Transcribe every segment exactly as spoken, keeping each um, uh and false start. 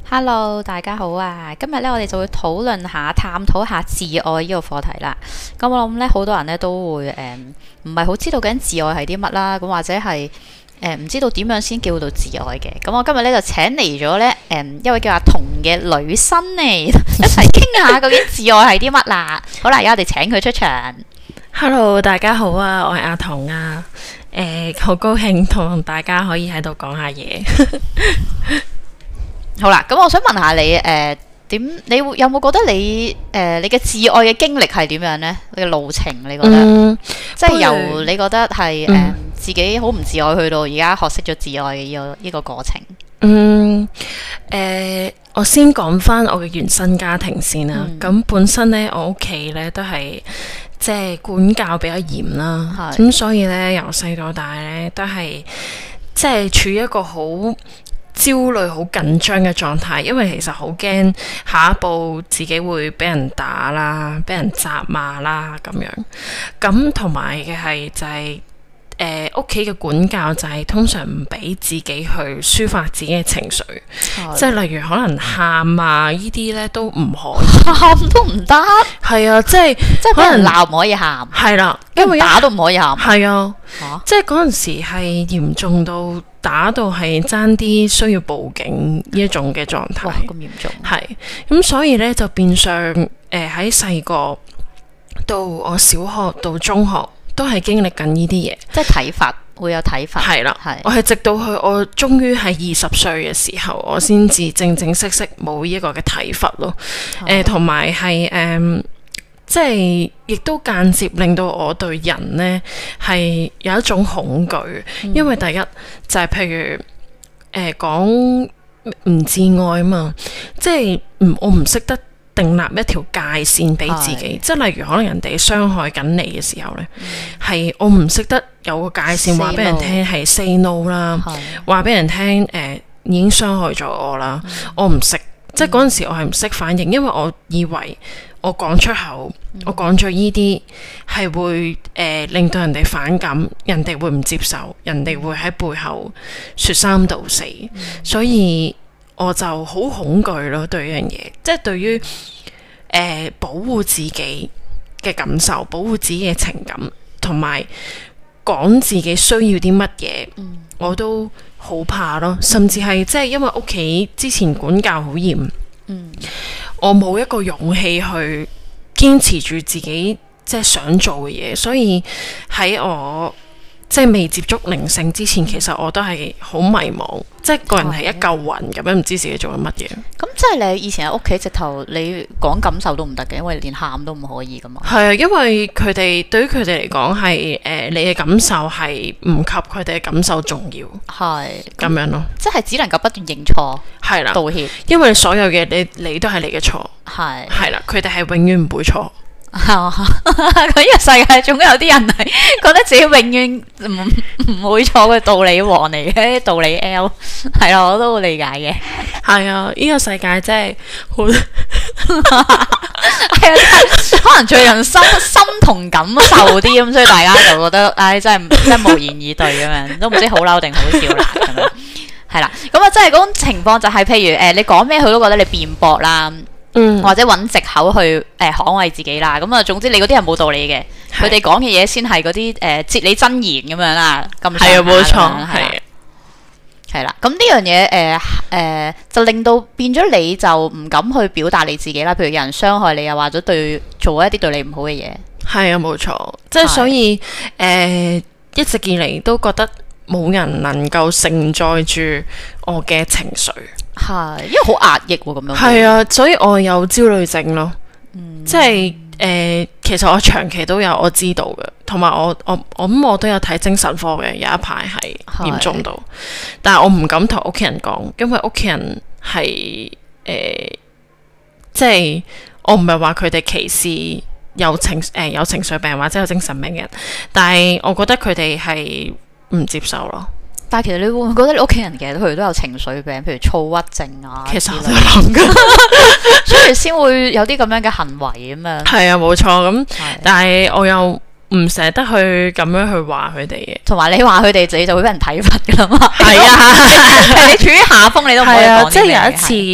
Hello，大家好啊！今日咧，我哋就會討論下、探討下自愛呢個課題啦。咁我諗咧，好多人咧都會誒，唔係好知道究竟自愛係啲乜啦。咁或者係誒，唔知道點樣先叫做自愛嘅。咁我今日咧就請嚟咗咧誒一位叫阿彤嘅女生嚟，一齊傾下究竟自愛係啲乜啦。好啦，而家我哋請佢出場。 Hello， 大家好啊，我係阿彤啊。誒、呃，好高興同大家可以喺度講下嘢。 好啦，咁我想問下你，誒、呃，點你會有冇覺得你誒、呃、你嘅自愛嘅經歷係點樣呢？你嘅路程你覺得，嗯、即係由你覺得係誒、呃嗯、自己好唔自愛，去到而家學識咗自愛嘅呢個呢個過程。嗯， 誒、呃，我先講翻我嘅原生家庭先啦。咁、嗯、本身咧，我屋企咧都係即係管教比較嚴啦，咁所以咧由細到大咧都係即係處於一個好焦慮、好緊張嘅狀態，因為其實好驚下一步自己會俾人打啦、俾人責罵啦咁樣。咁同埋嘅係就係誒屋企嘅管教就係通常唔俾自己去抒發自己嘅情緒，即係例如可能喊啊呢啲咧都唔可以， 喊都唔得。係啊，即係即係可能鬧唔可以喊，係啦，因為打都唔可以喊。係啊，啊即係嗰陣時係嚴重到打到係爭啲需要報警呢一種嘅狀態。哇，咁嚴重！係咁，所以咧就變相誒喺細個到我小學到中學都係經歷緊呢啲嘢， 即係體罰會有體罰。係啦，係我係直到去我終於係二十歲嘅時候，我先至正正式式冇呢一個嘅體罰咯。誒，同埋係誒，即係亦都間接令到我對人呢係有一種恐懼，嗯、因為第一就係、是、譬如誒講唔自愛啊嘛，即係唔我唔識得訂立一條界線俾自己，即係例如可能人哋傷害緊你嘅時候呢，係、嗯、我唔識得有個界線話俾人聽係 say no 啦，話俾人聽誒、呃、已經傷害咗我啦，嗯、我唔識，即係嗰陣時我係唔識反應，因為我以為我講出口，嗯、我講咗呢啲係會誒、呃、令到人哋反感，人哋會唔接受，人哋會喺背後說三道四，嗯、所以我就好恐懼咯，對呢樣嘢，即係對於誒、呃、保護自己嘅感受，保護自己嘅情感，同埋講自己需要啲乜嘢，嗯、我都好怕咯。甚至係即係因為屋企之前管教好嚴，嗯、我冇一個勇氣去堅持住自己即係想做嘅嘢，所以喺我即係未接觸靈性之前，其實我都係好迷茫，即係個人係一嚿雲咁樣，唔知自己做緊乜嘢。咁即係你以前喺屋企直頭，你講感受都唔得嘅，因為連喊都唔可以噶嘛。 係啊，因為佢哋對於佢哋嚟講係誒，你嘅感受係唔及佢哋嘅感受重要。係咁樣咯， 即係只能夠不斷認錯，係啦，道歉， 因為所有嘅你你都係你嘅錯，係係啦，佢哋係永遠唔會錯。 佢呢個世界總有啲人係覺得自己永遠唔唔會錯嘅道理王嚟嘅，道理 L 係啊，我都好理解嘅。 係啊，呢個世界真係好係啊，可能最近心心同感受啲咁，所以大家就覺得唉、哎，真係真係無言以對咁樣，都唔知好嬲定好笑啦咁樣。係啦，咁啊，即係嗰種情況就係、是，譬如誒、呃，你講咩佢都覺得你辯駁啦。嗯、或者揾藉口去誒、呃、捍衞自己啦，咁啊總之你嗰啲係冇道理嘅，佢哋講嘅嘢先係嗰啲誒哲理真言咁樣啦，咁係啊冇錯，係係啦，咁呢樣嘢誒誒就令到變咗你就唔敢去表達你自己啦，譬如有人傷害你啊，或者對做一啲對你唔好嘅嘢，係啊冇錯，即係所以誒、呃、一直以嚟都覺得冇人能夠承載住我嘅情緒。係，因為好壓抑喎，咁樣。係啊，所以我有焦慮症咯。嗯、即係誒、呃，其實我長期都有我知道嘅，同埋我我我咁我都有睇精神科嘅，有一排係嚴重到，是但係我唔敢同屋企人講，因為屋企人係誒、呃，即係我唔係話佢哋歧視有情誒、呃、有情緒病或者有精神病嘅人，但係我覺得佢哋係唔接受咯。但係其實你會唔會覺得你屋企人其實佢哋都有情緒病，譬如躁鬱症啊，其實我都諗噶，所以先會有啲咁樣嘅行為咁樣。係啊，冇錯咁，但係我又唔捨得去咁樣去話佢哋嘅，同埋你話佢哋自己就會俾人體罰噶啦嘛。係啊，你處於下風你都唔可以講啲咩嘅。即係有一次。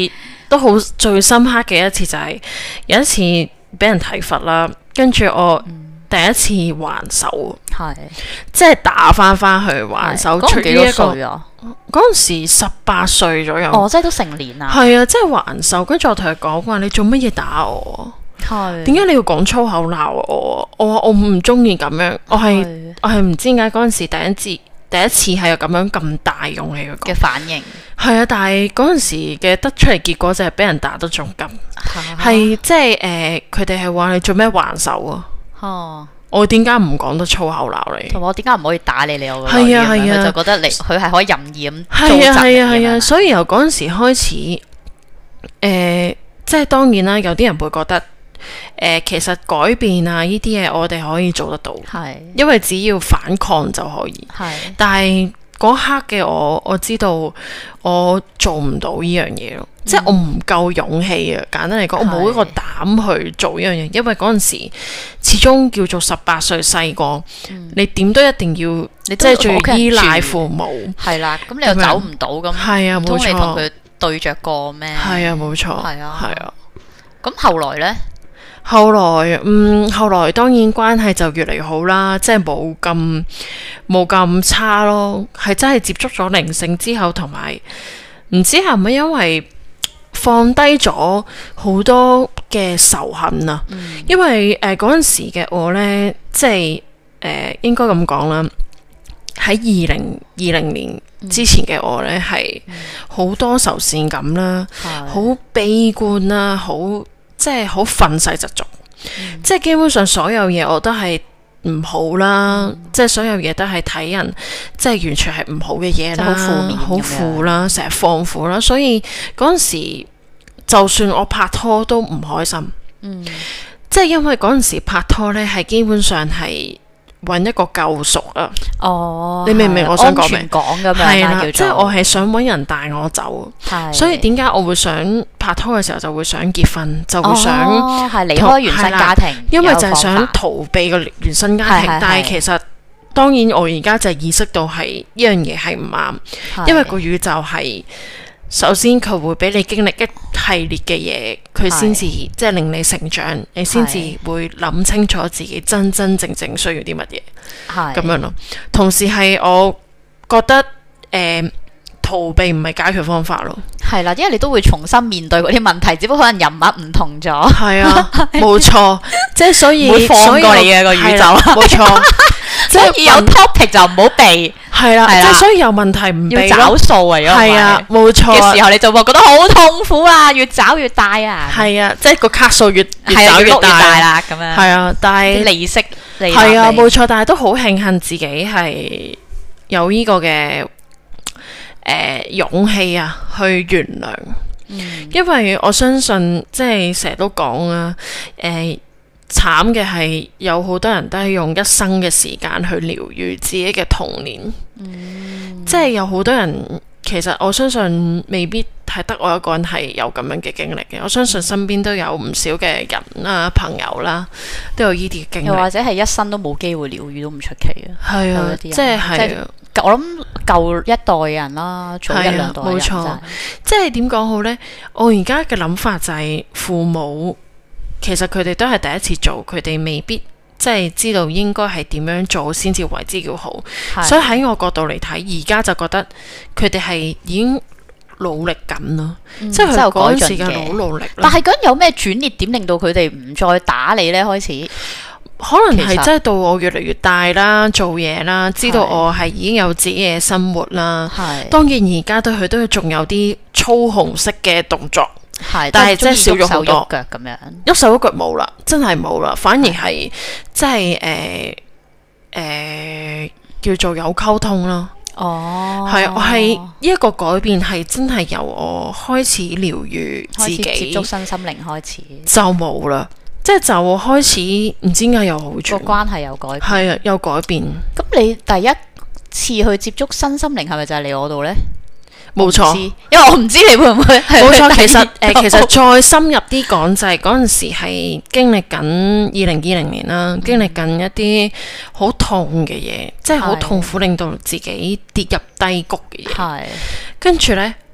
都好最深刻嘅一次就係、是、有一次俾人體罰啦，跟住我第一次還手，係、嗯、即係打翻翻去還手。出於一個嗰陣時十八歲左右， 哦，即係都成年啦。 係啊，即係還手。跟住我同佢講話，你做乜嘢打我？係點解你要講粗口鬧我？我話我唔中意咁樣，我係我係唔知點解嗰陣時第一次第一次係有咁樣咁大勇氣嘅反應。係啊，但係嗰陣時嘅得出嚟結果就係俾人打得仲急，係即係誒，佢哋係話你做咩還手啊？哦，我點解唔講得粗口鬧你？ 同埋我點解唔可以打你？你我係啊係啊， 佢就覺得你佢係可以任意咁係啊係啊係啊，所以由嗰陣時開始，誒、呃，即係當然啦，有啲人會覺得，誒、呃，其實改變啊呢啲嘢我哋可以做得到，係，因為只要反抗就可以，係，但係嗰刻嘅我，我知道我做唔到呢樣嘢咯。即係我唔夠勇氣啊！簡單嚟講，我冇一個膽去做呢樣嘢，因為嗰陣時始終叫做十八歲細個，你點都一定要，你即係仲要依賴父母， 係啦，咁你又走唔到咁， 係啊，冇錯， 你同佢對着過咩？ 係啊，冇錯， 係啊， 係啊。 咁後來呢？ 後來，嗯，後來當然關係就越嚟越好啦，即係冇咁冇咁差咯，係真係接觸咗靈性之後，同埋唔知係咪因為放低咗好多嘅仇恨啊！嗯、因為誒嗰陣時嘅我呢，即係誒、呃、應該咁講啦，喺二零二零年之前嘅我呢，係好、嗯、多愁善感啦，好、嗯、悲觀啦，好即係好憤世嫉俗，嗯、即係基本上所有嘢我都係唔好啦，嗯、即係所有嘢都係睇人，即係完全係唔好嘅嘢啦，好負面，好負啦，成日放負啦，所以嗰陣時就算我拍拖都唔開心，嗯，即係因為嗰陣時拍拖呢，係基本上係揾一個救贖啊，哦，你明唔明我想講咩？講咁樣係啦，即係我係想揾人帶我走，所以點解我會想拍拖嘅時候就會想結婚，就會想係離開原生家庭， 因為就係想逃避個原生家庭，但係其實當然我而家就意識到係呢樣嘢係唔啱，因為個宇宙係。首先佢會俾你經歷一系列嘅嘢，佢先至即係令你成長，你先至會諗清楚自己真真正正需要啲乜嘢，係咁樣咯。同時係我覺得誒、呃、逃避唔係解決方法咯，係啦， 因為你都會重新面對嗰啲問題，只不過可能人物唔同咗，係啊，冇錯，即係所以會放過你嘅個宇宙， 冇錯。即係有 topic 就唔好避， 係啦，即係所以有問題唔避咯， 要找數啊， 係啊，冇錯嘅時候你就會覺得好痛苦啊，越找越大啊， 係啊，即係個卡數越越找越大啦，咁樣係啊，但係利息係啊，冇錯，但係都好慶幸自己係有呢個嘅誒勇氣啊，去原諒，嗯，因為我相信即係成日都講啊，誒。慘嘅係有好多人都係用一生嘅時間去療癒自己嘅童年，嗯、即係有好多人其實我相信未必係得我一個人係有咁樣嘅經歷嘅，我相信身邊都有唔少嘅人啦、朋友啦，都有呢啲經歷， 又或者係一生都冇機會療癒都唔出奇啊！ 係啊，即係係我諗舊一代人啦，早一兩代人，冇錯， 即係點講好呢？我而家嘅諗法就係父母。其實佢哋都係第一次做，佢哋未必即係知道應該係點樣做先至為之叫好。的所以喺我角度嚟睇，而家就覺得佢哋係已經努力緊咯，嗯、即係佢嗰陣時嘅好努力。 但係咁有咩轉捩點令到佢哋唔再打你呢？開始可能係真係到我越嚟越大啦，做嘢啦，知道我係已經有自己嘅生活啦。係的當然而家對佢都仲有啲操控式嘅動作。係，但係真係少咗好多， 腳咁樣， 喐手喐腳冇啦，真係冇啦，反而係即係誒誒叫做有溝通咯。哦，係我係呢一個改變係真係由我開始療癒自己， 接觸身心靈開始就冇啦，即係就開始唔知點解有好轉， 個關係有改變， 係啊，有改變。 咁你第一次去接觸身心靈係咪就係你嗰度咧？ 冇錯， 因為我唔知你會唔會冇錯。其實誒、呃，其實再深入啲講就係嗰陣時係經歷緊二零二零年啦，嗯、經歷緊一啲好痛嘅嘢，即係好痛苦，令到自己跌入低谷嘅嘢。係跟住呢，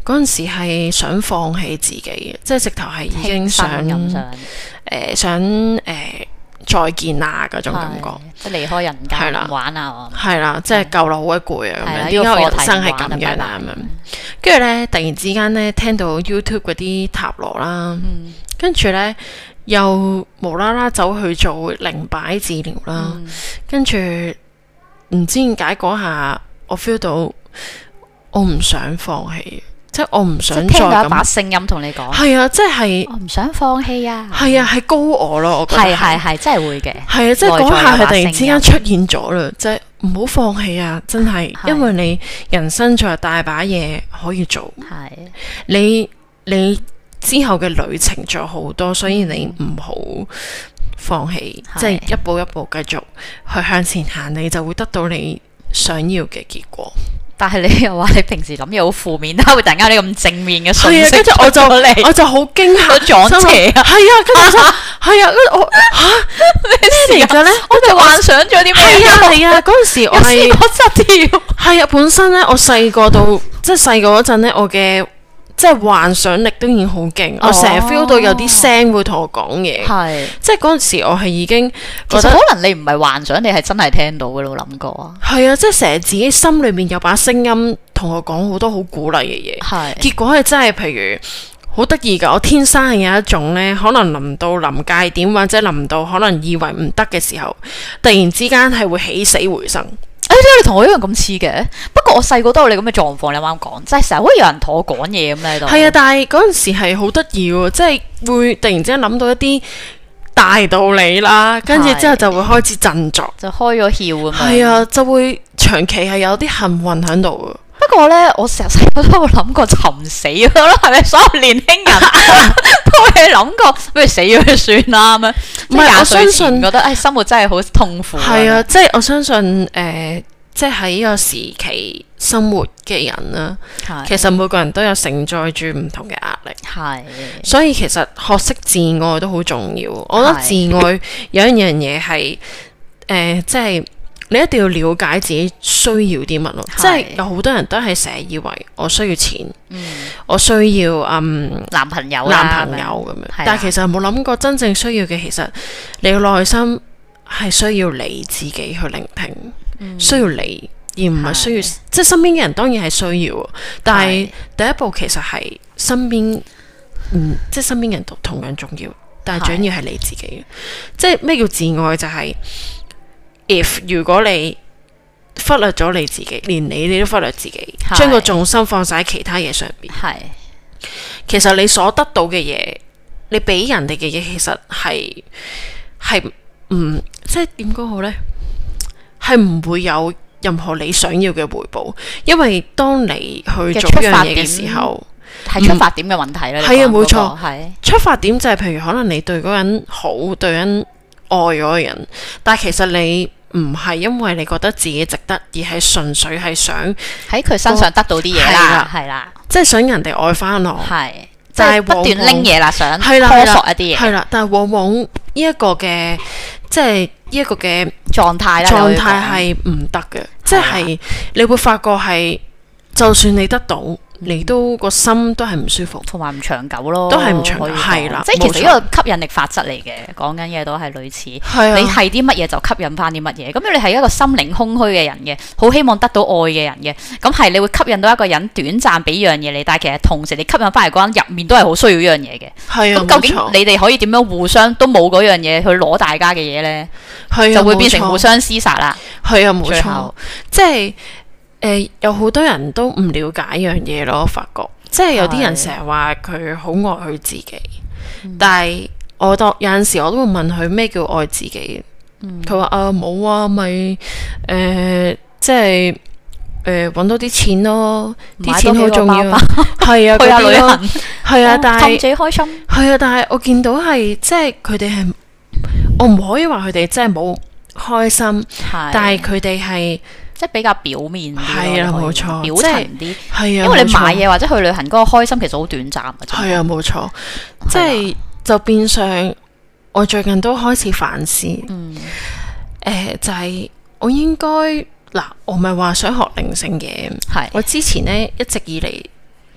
嗰陣時係想放棄自己嘅，即係直頭係已經想誒、呃、想誒、呃、再見啊嗰種感覺， 即係離開人間唔玩啊， 係啦，即係夠啦，好鬼攰啊咁樣，點解我人生係咁樣啊咁樣？跟住咧，突然之間咧聽到 YouTube 嗰啲塔羅啦，跟住咧又無啦啦走去做靈擺治療啦，跟住唔知點解嗰下我 feel 到我唔想放棄，即係我唔想再咁。聽到一把聲音同你講，係啊，即係我唔想放棄啊，係啊，係高我咯，我覺得係係係真係會嘅，係啊，即係嗰下係突然之間出現咗啦，即係唔好放棄啊，真係，因為你人生仲有大把嘢可以做，係你你之後嘅旅程仲有好多，所以你唔好放棄，即係一步一步繼續去向前行，你就會得到你想要嘅結果。但係你又話你平時諗嘢好負面，點解會突然間啲咁正面嘅信息？跟住我就我就好驚嚇，撞邪啊！係啊，跟住係啊，我嚇咩嚟嘅咧？我就幻想咗啲咩？係啊係啊，嗰陣時我係我失調。係啊，本身咧我細個到即係細個嗰陣咧，我嘅即係幻想力都已經好勁，我成日 feel 到有啲聲會同我講嘢。係即係嗰陣時我係已經覺得可能你唔係幻想，你係真係聽到嘅咯，諗過啊？係啊，即係成日自己心裏面有把聲音同我講好多好鼓勵嘅嘢。係結果係真係譬如好得意㗎，我天生係有一種咧，可能臨到臨界點或者臨到可能以為唔得嘅時候，突然之間係會起死回生。誒，點解你同我一樣咁似嘅？不過我細個都有你咁嘅狀況，你啱啱講，即係成日會有人同我講嘢咁喺度。係啊，但係嗰陣時係好得意喎，即係會突然之間諗到一啲大道理啦，跟住之後就會開始振作，就開咗竅咁樣。係啊，就會長期係有啲幸運喺度。不過咧，我成日細個都有諗過尋死咯，係咪？所有年輕人都會諗過，不如死咗就算啦咁樣。唔係，我相信覺得誒生活真係好痛苦。係啊，即係我相信誒，即係喺呢個時期生活嘅人啦，其實每個人都有承載住唔同嘅壓力。係，所以其實學識自愛都好重要。我覺得自愛有一樣嘢係誒，即係。你一定要了解自己需要啲乜咯，即係有好多人都係成日以為我需要錢，嗯、我需要嗯男朋友男朋友咁樣，但係其實冇諗過真正需要嘅，其實你嘅內心係需要你自己去聆聽，嗯、需要你而唔係需要，即係身邊嘅人當然係需要，但係第一步其實係身邊，嗯，即係身邊嘅人都同樣重要，但係最緊要係你自己，即係咩叫自愛就係、是。If 如果你忽略咗你自己，連你你都忽略自己，將個重心放晒喺其他嘢上邊，係其實你所得到嘅嘢，你俾人哋嘅嘢，其實係係唔即係點講好呢？係唔會有任何你想要嘅回報，因為當你去做一樣嘢嘅時候，係出發點嘅問題咧。係啊，冇錯，係出發點就係譬如可能你對嗰個人好，對人愛嗰個人，但係其實你。唔係因為你覺得自己值得，而係純粹係想喺佢身上得到啲嘢啦，係啦，即係想人哋愛翻我，係，就係不斷拎嘢啦，想摸索一啲嘢，係啦，但係往往呢一個嘅即係呢一個嘅狀態啦，狀態係唔得嘅，即係你會發覺係，就算你得到。你都個心都係唔舒服，同埋唔長久咯，都係唔長久，係啦。即係其實呢個吸引力法則嚟嘅，講緊嘢都係類似。係啊，你係啲乜嘢就吸引翻啲乜嘢。咁你係一個心靈空虛嘅人嘅，好希望得到愛嘅人嘅，咁係你會吸引到一個人短暫俾樣嘢你，但係其實同時你吸引翻嚟嗰人入面都係好需要呢樣嘢嘅。係啊，咁究竟你哋可以點樣互相都冇嗰樣嘢去攞大家嘅嘢咧？係啊，就會變成互相廝殺啦。係啊，冇錯，即係。誒、呃，有好多人都唔了解一樣嘢咯，我發覺，即係有啲人成日話佢好愛佢自己，嗯、但係我當有陣時我都會問佢咩叫愛自己，佢話、嗯、啊冇啊，咪誒、呃、即係誒搵多啲錢咯，啲錢好重要，係啊，去下旅行，係啊，但係氹自己開心，係啊，但係我見到係即係佢哋係，我唔可以話佢哋真係冇開心，但係佢哋係。即係比較表面啲，係啊，冇錯，表層啲，係啊，因為你買嘢或者去旅行嗰個開心其實好短暫嘅，係啊，冇錯，即係就變相我最近都開始反思，嗯，誒就係我應該嗱，我咪話想學靈性嘅，係我之前咧一直以嚟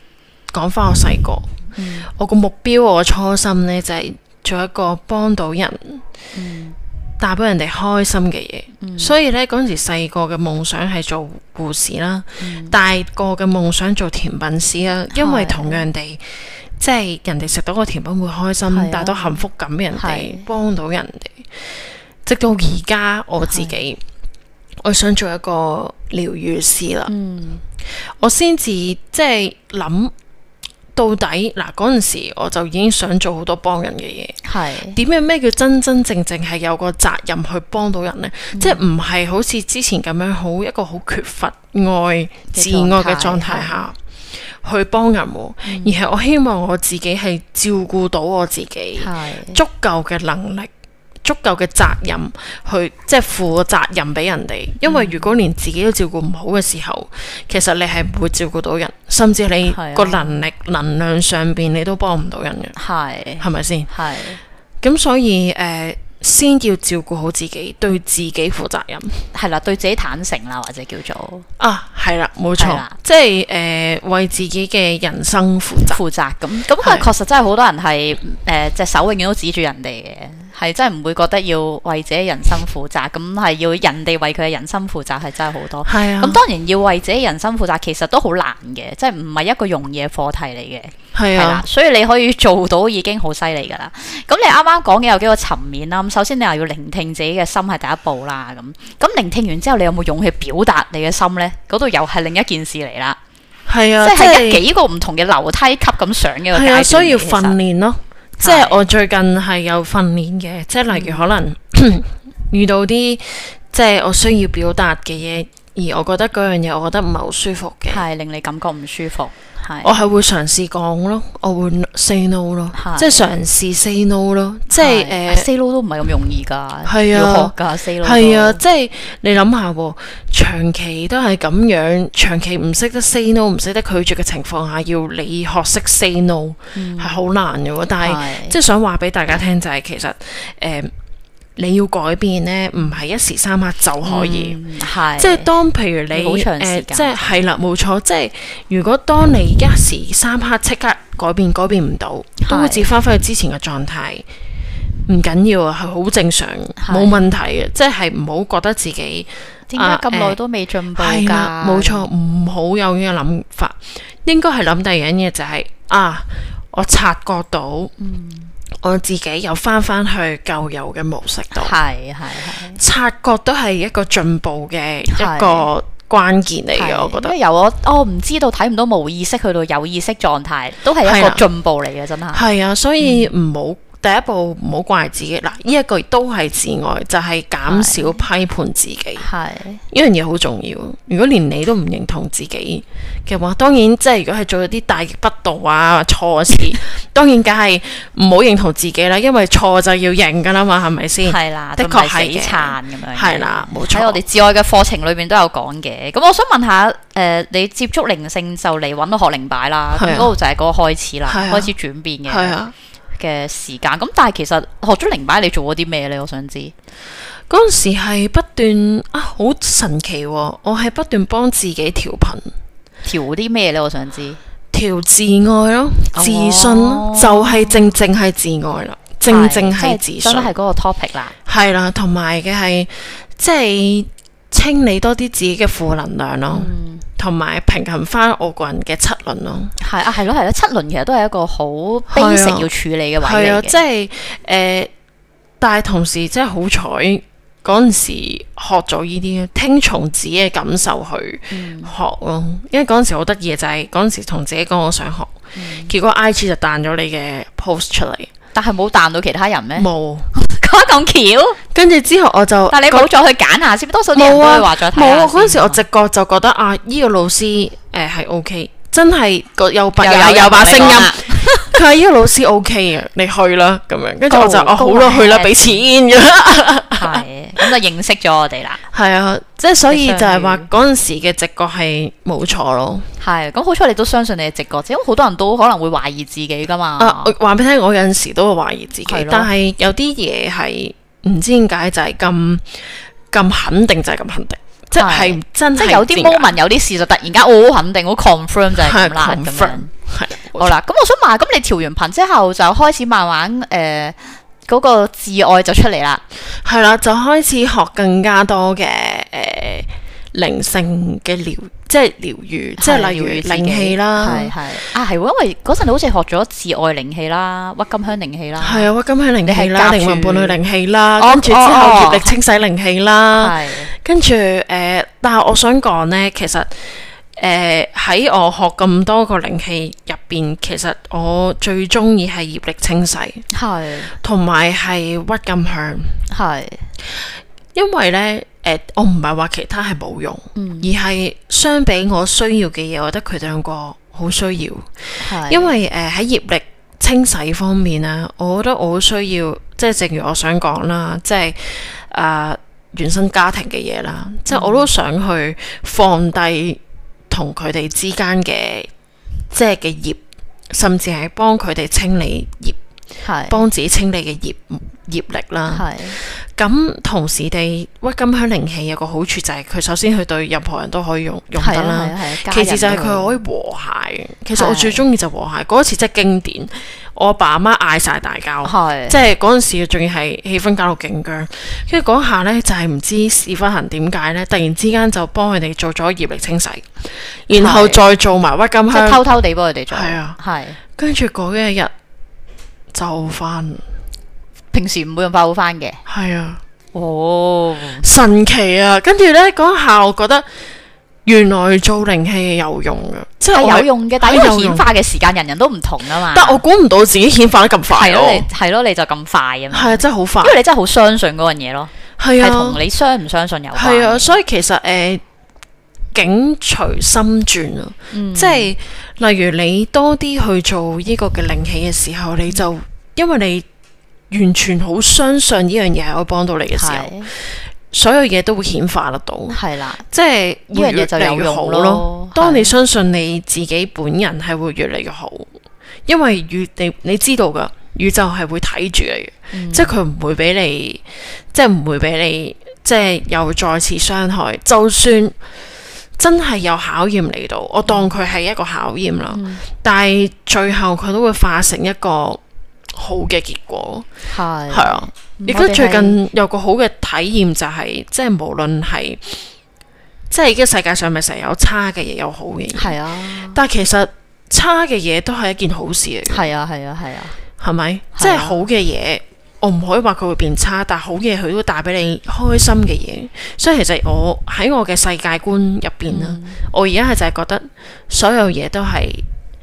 講翻我細個，嗯、我個目標我初心呢，就係、是、做一個幫到人，嗯、帶俾人哋開心嘅嘢。嗯、所以呢，嗰陣時細個嘅夢想係做護士啦，嗯、大個嘅夢想做甜品師啦，因為同樣地。即係人哋食到個甜品會開心，啊、帶到幸福感俾人哋，幫到人哋。直到而家我自己，我想做一個療癒師啦。嗯、我先至即係諗到底嗱，嗰陣時我就已經想做好多幫人嘅嘢。係點樣咩叫真真正正係有個責任去幫到人呢？嗯、即係唔係好似之前咁樣好一個好缺乏愛、自愛嘅狀態下。去幫人，嗯、而係我希望我自己係照顧到我自己，是足夠嘅能力、足夠嘅責任去即係負責任俾人哋。因為如果連自己都照顧唔好嘅時候，其實你係唔會照顧到人，甚至你個能力、啊、能量上邊你都幫唔到人嘅。係係咪先？係咁，所以誒。呃先要照顧好自己，對自己負責任， 係啦，對自己坦誠啦，或者叫做啊，係啦，冇錯，啦即係誒、呃、為自己嘅人生負責負責咁，咁佢確實真係好多人係誒隻手永遠都指住人哋嘅，係真係唔會覺得要為自己人生負責，咁係要人哋為佢嘅人生負責，係真係好多。係啊，咁當然要為自己人生負責，其實都好難嘅，即係唔係一個容易嘅課題嚟嘅。係啊，所以你可以做到已經好犀利噶啦。咁你啱啱講嘅有幾個層面啦。咁首先你又要聆聽自己嘅心係第一步啦。咁咁聆聽完之後，你有冇勇氣表達你嘅心呢？嗰度又係另一件事嚟啦。係啊，即係一幾個唔同嘅樓梯級咁上嘅個階段。係啊，所以要訓練咯。即係我最近係有訓練嘅，即係例如可能、嗯、遇到啲即係我需要表達嘅嘢，而我覺得嗰樣嘢我覺得唔係好舒服嘅，係令你感覺唔舒服。我係會嘗試講咯，我會 say no 咯，即係嘗試 say no 咯，即係誒 say no 都唔係咁容易㗎， 係啊， 要學㗎 say no。 係啊，即係你諗下喎，長期都係咁樣，長期唔識得 say no，唔識得拒絕嘅情況下，要你學識 say no 係好、嗯、難嘅喎。但係即係想話俾大家聽就係、是、其實誒。呃你要改變呢，唔係一時三刻就可以，嗯、即係當譬如你誒、呃，即係係啦，冇錯，即係如果當你一時三刻即刻改變，改變唔到，都會自翻返去之前嘅狀態，唔緊要啊，係好正常，冇問題嘅，即係唔好覺得自己點解咁耐都未進步㗎？ 冇錯，唔好有呢個諗法，應該係諗第二樣嘢就係、是、啊，我察覺到。嗯我自己又翻翻去舊有嘅模式度，係係係，察覺都係一個進步嘅一個關鍵嚟嘅，我覺得。因為由我我唔知道睇唔到冇意識去到有意識狀態，都係一個進步嚟嘅，真係。係啊，所以唔好。嗯第一步唔好怪自己，嗱，呢一個都係自愛，就係、是、減少批判自己。係呢樣嘢好重要。如果連你都唔認同自己嘅話，當然即係如果係做咗啲大逆不道啊錯事，當然梗係唔好認同自己啦。因為錯就要認噶啦嘛，係咪先？係啦，的確係嘅。咁樣係啦，冇錯。喺我哋自愛嘅課程裏邊都有講嘅。咁我想問下，誒、呃，你接觸靈性就嚟揾到學靈擺啦，咁嗰度就係嗰個開始啦，啊、開始轉變嘅。係啊。嘅時間咁，但係其實學咗靈擺，你做過啲咩呢？我想知嗰陣時係不斷啊，好神奇喎、哦！我係不斷幫自己調頻，調啲咩呢？我想知調自愛咯，自信咯，哦、就係正正係自愛啦，正正係自信，真係嗰個 topic 啦，係啦，同埋嘅係即係清理多啲自己嘅負能量咯。嗯同埋平衡翻我個人嘅七輪咯，係啊，係咯，係咯，七輪其實都係一個好 basic 要處理嘅位嚟嘅，係啊，即係誒、呃，但係同時即係好彩嗰陣時學咗呢啲，聽從自己嘅感受去學咯，嗯、因為嗰陣時好得意嘅就係嗰陣時同自己講我想學，嗯、結果 I G 就彈咗你嘅 post 出嚟，但係冇彈到其他人咩？冇。咁巧，跟住之後我就，但係你冇再去揀下先，多數啲人都會話再睇下先。冇啊，嗰陣時我直覺就覺得啊，呢個老師誒係 O K，真係個有把有有把聲音，佢話呢個老師 O K 啊，你去啦咁樣。跟住我就哦好啦，去啦，俾錢㗎啦。係，咁就認識咗我哋啦。係啊，即係所以就係話嗰陣時嘅直覺係冇錯咯。係，咁好彩你都相信你嘅直覺，因為好多人都可能會懷疑自己噶嘛。啊，話俾你聽，我有陣時都會懷疑自己，的但係有啲嘢係唔知點解就係咁咁肯定，就係咁肯定，即係真係。即係有啲 moment，有啲事就突然間我好肯定，好 confirm 就係咁啦，咁樣係好啦，咁我想問下，咁你調完頻之後就開始慢慢誒嗰、呃那個自愛就出嚟啦。 係啦，就開始學更加多嘅誒靈性嘅療，即係療愈，即係例如靈氣啦。 係係啊，係喎，因為嗰陣你好似學咗自愛靈氣啦、鬱金香靈氣啦。係啊，鬱金香靈氣啦，靈魂伴侶靈氣啦， 哦、 跟住之後業力清洗靈氣啦。係、哦。跟住誒、呃，但係我想講咧，其實。誒喺、呃、我學咁多個靈氣入邊，其實我最中意係業力清洗，係同埋係鬱金香，係因為咧誒、呃，我唔係話其他係冇用，嗯、而係相比我需要嘅嘢，我覺得佢哋兩個好需要，係因為誒喺、呃、業力清洗方面咧，我覺得我好需要，即係正如我想講啦，即係啊、呃、原生家庭嘅嘢啦，嗯、即係我都想去放低。同佢哋之間嘅即係嘅業，甚至係幫佢哋清理業，係幫自己清理嘅業業力啦。係咁同時地，鬱金香靈氣有個好處就係佢首先佢對任何人都可以用用得啦。其次就係佢可以和諧。其實我最中意就和諧嗰一次真係經典。我阿爸阿媽嗌晒大交，即係嗰陣時仲要係氣氛搞到勁僵，跟住嗰下呢，就係、是、唔知屎忽痕點解呢，突然之間就幫佢哋做咗業力清洗，然後再做埋鬱金香，即係偷偷地幫佢哋做。係啊，係。跟住嗰一日就翻， 平時唔會咁快好翻嘅。 係啊， 哦， 神奇啊！跟住呢，嗰下我覺得。原來做靈氣係有用嘅，即係有用嘅，但係因為顯化嘅時間人人都唔同啊嘛。 但我估唔到自己顯化得咁快咯。 係咯，你就咁快啊嘛。係啊， 真係好快。 因為你真係好相信嗰樣嘢咯。係啊，係同你相唔相信有關。 係啊，所以其實誒，境隨心轉啊，嗯、即係例如你多啲去做呢個嘅靈氣嘅時候，你就因為你完全好相信呢樣嘢係可以幫到你嘅時候。所有嘢都會顯化得到，係啦，即係呢樣嘢就有用咯。當你相信你自己本人係會越嚟越好，因為宇你你知道噶，宇宙係會睇住你嘅，嗯、即係佢唔會俾你，即係唔會俾你，即係又再次傷害。就算真係有考驗嚟到，我當佢係一個考驗啦，嗯、但係最後佢都會化成一個好嘅結果，係係啊。亦都最近有個好嘅體驗就係、是，即係無論係，即係呢個世界上咪成日有差嘅嘢，有好嘅嘢，係啊。但係其實差嘅嘢都係一件好事嚟嘅，係啊係啊係啊，係咪？啊、即係好嘅嘢，我唔可以話佢會變差，但係好嘢佢都帶俾你開心嘅嘢。所以其實我喺我嘅世界觀入邊啦，嗯、我而家係就係覺得所有嘢都係。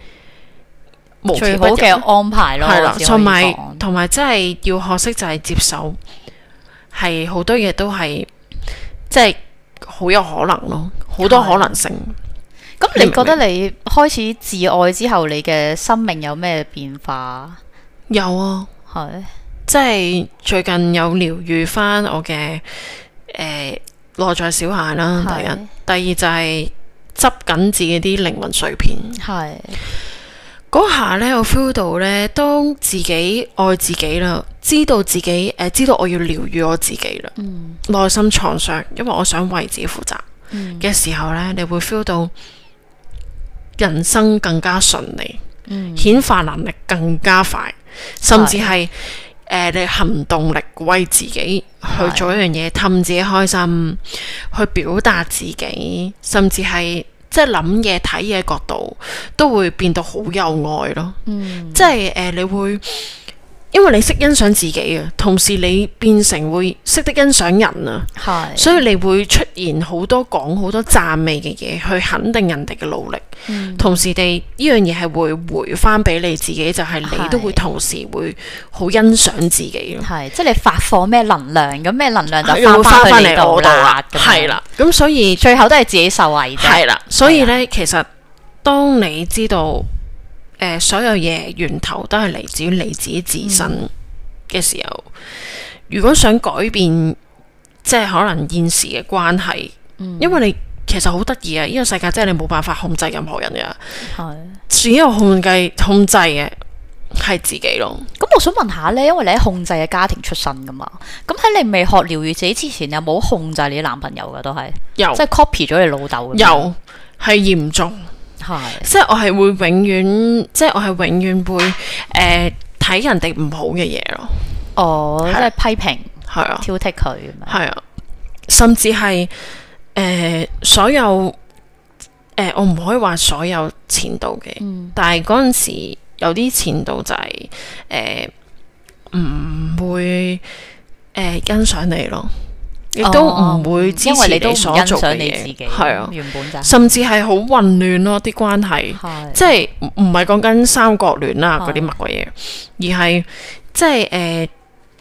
最好嘅安排咯，係啦， 同埋同埋真係要學識就係接受，係好多嘢都係即係好有可能咯，好多可能性。 咁你覺得你開始自愛之後，你嘅生命有咩變化？ 有啊，係即係最近有療愈翻我嘅誒內在小孩啦。第一，第二就係執緊自己啲靈魂碎片，係。嗰下咧，我 feel 到咧，當自己愛自己啦，知道自己誒、呃，知道我要療愈我自己啦，嗯、內心創傷，因為我想為自己負責嘅、嗯、時候咧，你會 feel 到人生更加順利，嗯、顯化能力更加快，甚至係誒、呃、你行動力為自己去做一樣嘢，氹自己開心，去表達自己，甚至係。即係諗嘢睇嘢角度都會變到好有愛咯，嗯、即係誒、呃、你會因為你識欣賞自己啊，同時你變成會識得欣賞人啊，係，所以你會出現好多講好多讚美嘅嘢去肯定人哋嘅努力，嗯、同時地呢樣嘢係會回翻俾你自己，就係、是、你都會同時會好欣賞自己咯，係， 即係你發放咩能量，咁咩能量就翻翻去你度啦， 係啦，咁所以最後都係自己受惠啫， 係啦，所以咧其實當你知道。誒、呃，所有嘢源頭都係嚟自於你自己自身嘅時候，嗯、如果想改變，即係可能現時嘅關係，嗯、因為你其實好得意啊！呢、這個世界真係你冇辦法控制任何人嘅，係只有控制控制嘅係自己咯。 咁我想問下呢，因為你喺控制嘅家庭出身噶嘛，咁喺你未學療癒自己之前，有冇控制你男朋友噶？都係有，即係 copy 咗你老豆。 有，係嚴重。 係，即係我係會永遠，即係我係永遠會誒睇人哋唔好嘅嘢咯。 哦，即係批評， 係啊， 挑剔佢， 係啊，甚至係誒所有誒，我唔可以話所有前度嘅，但係嗰陣時有啲前度就係誒唔會誒欣賞你咯。亦都唔會支持你所做嘅嘢，係啊，原本就甚至係好混亂咯，啲關係，即係唔唔係講緊三角戀啦嗰啲乜鬼嘢，而係即係誒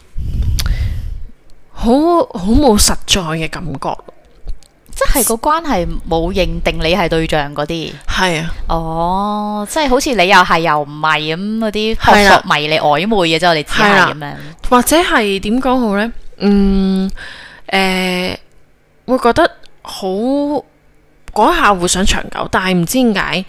好好冇實在嘅感覺， 即係個關係冇認定你係對象嗰啲， 係啊， 哦，即係好似你又係又唔係咁嗰啲撲朔迷離曖昧嘅啫，我哋只係咁樣， 或者係點講好咧？嗯。誒、呃，會覺得好嗰下會想長久，但係唔知點解，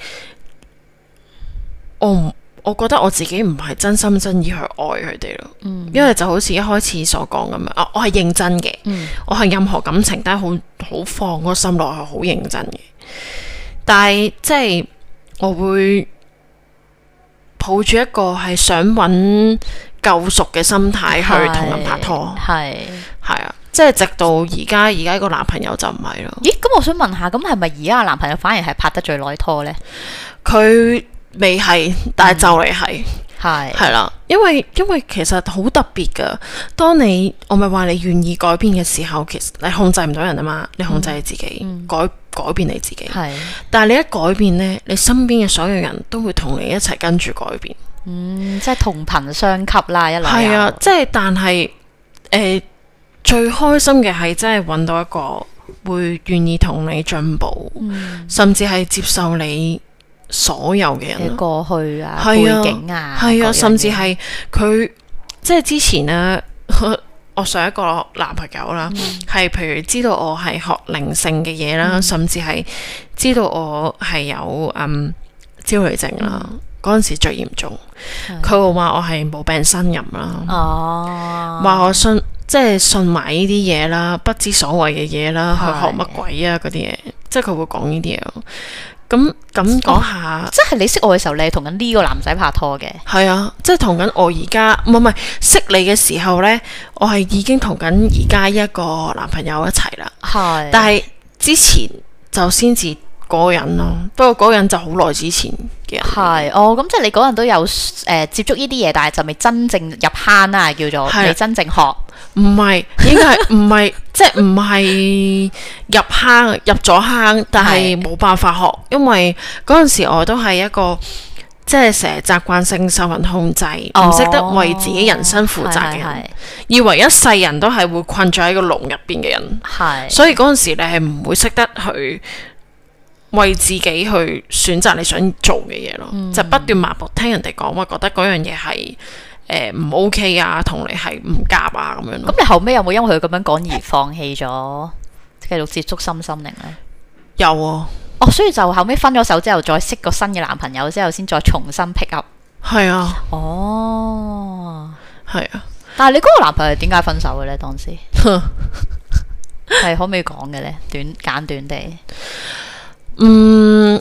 我唔，我覺得我自己唔係真心真意去愛佢哋咯。嗯、因為就好似一開始所講咁樣，啊，我係認真嘅，嗯、我係任何感情都係好好放個心落去，好認真嘅。但係即係我會抱住一個係想揾救贖嘅心態去同人拍拖，係係啊。即係直到而家，而家個男朋友就唔係咯。咦？咁我想問下，咁係咪而家個男朋友反而係拍得最耐拖呢？佢未係，但係就嚟係，係係啦。因為因為其實好特別噶。當你我咪話你願意改變嘅時候，其實你控制唔到人啊嘛，你控制你自己，嗯、改改變你自己。係。但係你一改變呢，你身邊嘅所有人都會同你一齊跟住改變。嗯，即係同頻相吸啦，一來係啊，即係但係誒。呃最開心嘅係真係揾到一個會願意同你進步，嗯、甚至係接受你所有嘅人過去啊、背景啊，係啊，甚至係佢即係之前呢，我上一個男朋友啦，係、嗯、譬如知道我係學靈性嘅嘢啦，嗯、甚至係知道我係有嗯焦慮症啦，嗰陣、嗯、時最嚴重，佢會話我係冇病呻吟啦，哦，話我信。即係信埋呢啲嘢啦，不知所謂嘅嘢啦，去學乜鬼啊嗰啲嘢，即係佢會講呢啲嘢咯。咁咁講下，哦、即係你識我嘅時候，你係同緊呢個男仔拍拖嘅？係啊，即係同緊我而家，唔係唔係識你嘅時候呢，我係已經同緊而家一個男朋友一齊啦。係是，但係之前就先至嗰個人咯，不過嗰個人就好耐之前嘅人。係哦，咁即係你嗰陣都有誒、呃、接觸呢啲嘢，但係就未真正入坑啦，叫做未真正學。唔係，應該係唔係，即係唔係入坑入咗坑，但係冇辦法學，因為嗰陣時我都係一個即係成日習慣性受人控制，唔識、哦、得為自己人生負責嘅人，是是是以為一世人都係會困咗喺個籠入邊嘅人，係是，所以嗰陣時你係唔會識得去為自己去選擇你想做嘅嘢咯，嗯、就不斷盲目聽人哋講，我覺得嗰樣嘢係。誒唔、呃、OK 啊，同你係唔夾啊咁樣咯。咁你後尾有冇因為佢咁樣講而放棄咗繼續接觸心心靈咧？有啊。哦，所以就後尾分咗手之後，再識個新嘅男朋友之後，先再重新 pick up。係啊。哦。係啊。但係你嗰個男朋友點解分手嘅咧？當時係可唔可以講嘅咧？短簡短地。嗯。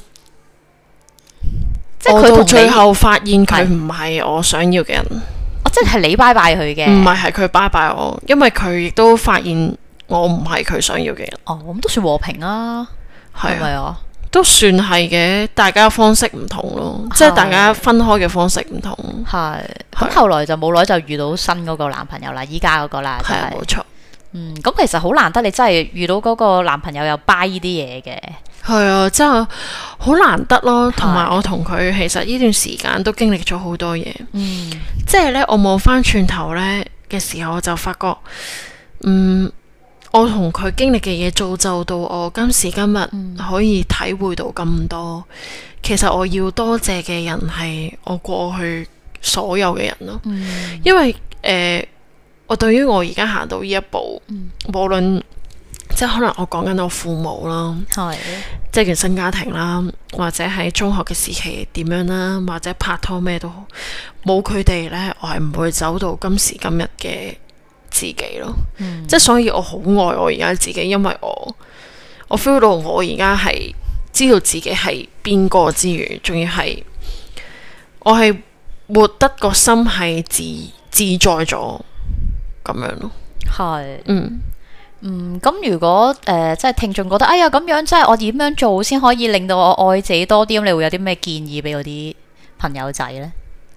即係佢到最後發現佢唔係我想要嘅人。哦，即係你拜拜佢嘅，唔係係佢拜拜我，因為佢亦都發現我唔係佢想要嘅人。哦，咁都算和平啊，係咪啊？都算係嘅，大家方式唔同咯，即係大家分開嘅方式唔同。係咁，後來就冇耐就遇到新嗰個男朋友啦，依家嗰個啦，係冇錯。嗯，咁其實好難得，你真係遇到嗰個男朋友又 buy 呢啲嘢嘅。係啊，真係好難得咯。同埋我同佢其實呢段時間都經歷咗好多嘢。嗯，即係咧，我望翻轉頭咧嘅時候，我就發覺，嗯，我同佢經歷嘅嘢造就到我今時今日可以體會到咁多。嗯、其實我要多謝嘅人係我過去所有嘅人咯。嗯、因為誒、呃，我對於我而家行到呢一步，嗯、無論。即係可能我講緊我父母啦，係的即係原生家庭啦，或者喺中學嘅時期點樣啦，或者拍拖咩都好，冇佢哋呢，我係唔會走到今時今日嘅自己咯。嗯、即係所以我好愛我而家自己，因為我我 feel 到我而家係知道自己係邊個之餘，仲要係我係活得個心係自自在咗咁樣咯。係，嗯。 嗯，咁如果誒、呃，即係聽眾覺得，哎呀咁樣，即係我點樣做先可以令到我愛自己多啲？咁你會有啲咩建議俾我啲朋友仔呢？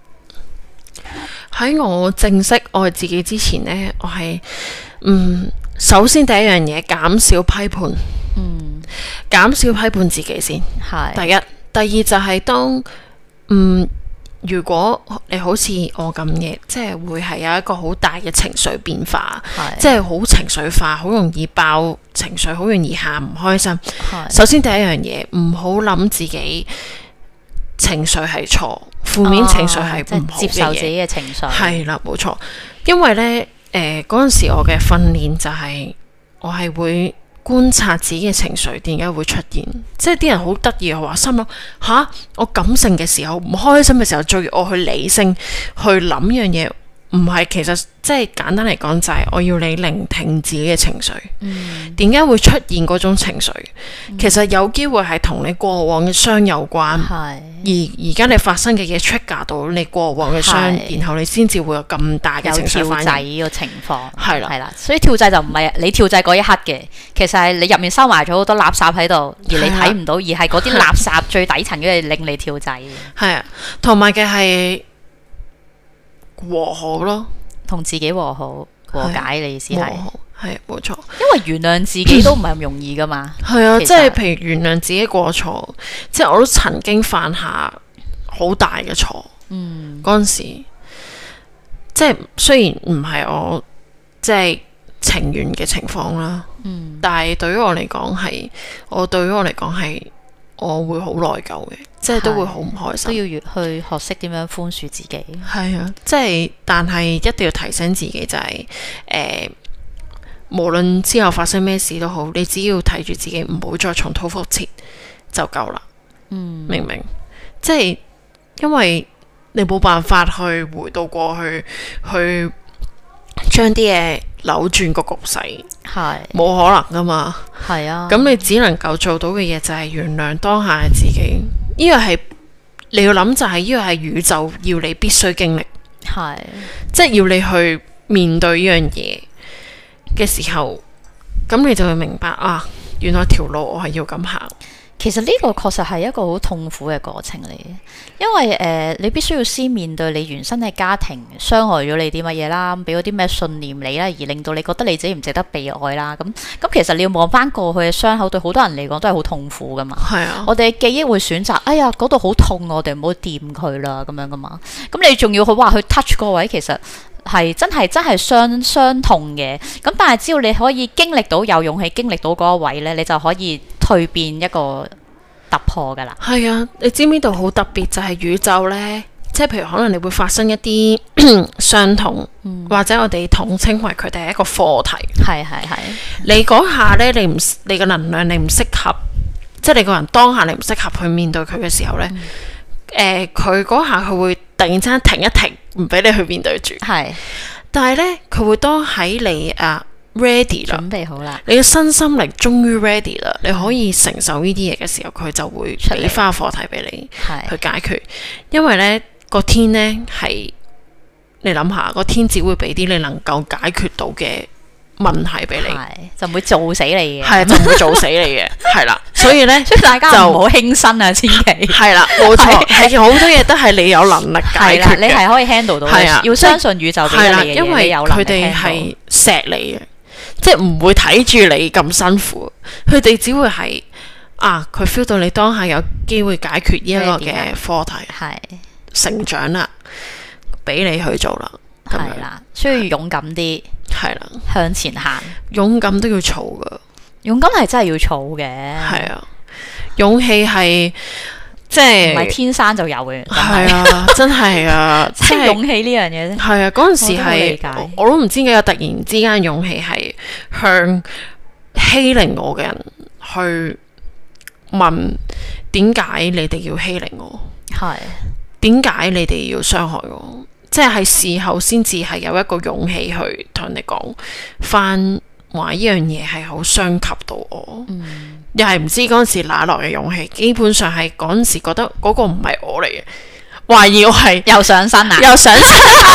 喺我正式愛自己之前呢，我係嗯，首先第一樣嘢減少批判，嗯，減少批判自己先，係第一。第二就係當嗯。如果你好似我咁嘅，即係會係有一個好大嘅情緒變化，即係好情緒化，好容易爆情緒，好容易喊唔開心。首先第一樣嘢，唔好諗自己情緒係錯，負面情緒係唔好嘅嘢，接受自己嘅情緒。係啦，冇錯。因為呢，誒嗰陣時我嘅訓練就係、是、我係會觀察自己嘅情緒點解會出現，即係啲人好得意，我話心諗吓，我感性嘅時候唔開心嘅時候，最我去理性去諗樣嘢，唔係，其實即係簡單嚟講就係我要你聆聽自己嘅情緒，點解、嗯、會出現嗰種情緒？嗯、其實有機會係同你過往嘅傷有關，是而而家你發生嘅嘢 trigger 到你過往嘅傷，是然後你先至會有咁大嘅情緒反應。有跳掣個情況係啦，係啦，所以跳掣就唔係你跳掣嗰一刻嘅，其實係你入面收埋咗好多垃圾喺度，而你睇唔到，的而係嗰啲垃圾最底層嘅令你跳掣。係啊，同埋嘅係。和好咯，同自己和好和解，你意思係係冇錯，因為原諒自己都唔係咁容易噶嘛。係啊，即係譬如原諒自己過錯，即係我都曾經犯下好大嘅錯。嗯，嗰陣時即係雖然唔係我即係情願嘅情況啦，嗯，但係對於我嚟講係，我對於我嚟講係。我會好內疚嘅，即係都會好唔開心。都要越去學識點樣寬恕自己。係啊，即係，但係一定要提醒自己就係、是，誒、呃，無論之後發生咩事都好，你只要睇住自己，唔好再重蹈覆轍就夠啦。嗯，明唔明？即係因為你冇辦法去回到過去，去將啲嘢扭轉個局勢，係冇可能噶嘛。係啊，咁你只能夠做到嘅嘢就係原諒當下嘅自己。呢個係你要諗，就係呢個係宇宙要你必須經歷，係即係要你去面對呢樣嘢嘅時候，咁你就會明白啊，原來條路我係要咁行。其實呢個確實係一個好痛苦嘅過程嚟嘅，因為誒、呃、你必須要先面對你原生嘅家庭傷害咗你啲乜嘢啦，俾咗啲咩信念你啦，而令到你覺得你自己唔值得被愛啦。咁咁其實你要望翻過去嘅傷口，對好多人嚟講都係好痛苦噶嘛。係啊，我哋嘅記憶會選擇，哎呀嗰度好痛，我哋唔好掂佢啦咁樣噶嘛。咁你仲要去話去 touch 嗰位，其實係真係真係傷傷痛嘅。咁但係只要你可以經歷到，有勇氣經歷到嗰一位咧，你就可以蛻變一個突破噶啦。係啊，你知唔知道好特別就係宇宙呢？即係譬如可能你會發生一啲傷痛，嗯、或者我哋統稱為佢哋係一個課題。係係係。你嗰下呢，你唔你個能量你唔適合，即係你個人當下你唔適合去面對佢嘅時候呢，誒佢嗰下佢會突然之間停一停，唔俾你去面對住。係是，但係呢，佢會當喺你啊。ready 啦，準備好啦，你嘅身心靈終於 ready 啦，嗯、你可以承受呢啲嘢嘅時候，佢就會俾翻個課題俾你去解決。是因為呢個天呢係，你諗下個天只會俾啲你能夠解決到嘅問題俾你，就唔會做死你嘅，係就唔會做死你嘅，係啦。所以呢，所以大家就唔好輕生啊，千祈係啦，冇錯，係好多嘢都係你有能力解決嘅，你係可以 handle 到嘅，要相信宇宙俾你嘅嘢，因為佢哋係錫你嘅。即係唔會睇住你咁辛苦，佢哋只會係啊，佢 feel 到你當下有機會解決呢一個嘅課題，係成長啦，俾你去做啦，係啦，需要勇敢啲，係啦，向前行，勇敢都要儲噶，勇敢係真係要儲嘅，係啊，勇氣係。即係唔係天生就有嘅？係啊，真係啊，即係勇氣呢樣嘢。係啊，嗰陣時係我，我都唔知點解突然之間勇氣係向欺凌我嘅人去問點解你哋要欺凌我？係點解你哋要傷害我？即係事後先至係有一個勇氣去同人哋講翻話呢樣嘢係好傷及到我， 嗯、 又係唔知嗰陣時哪來嘅勇氣，基本上係嗰陣時覺得嗰個唔係我嚟嘅，懷疑我係又上身啊， 又上身，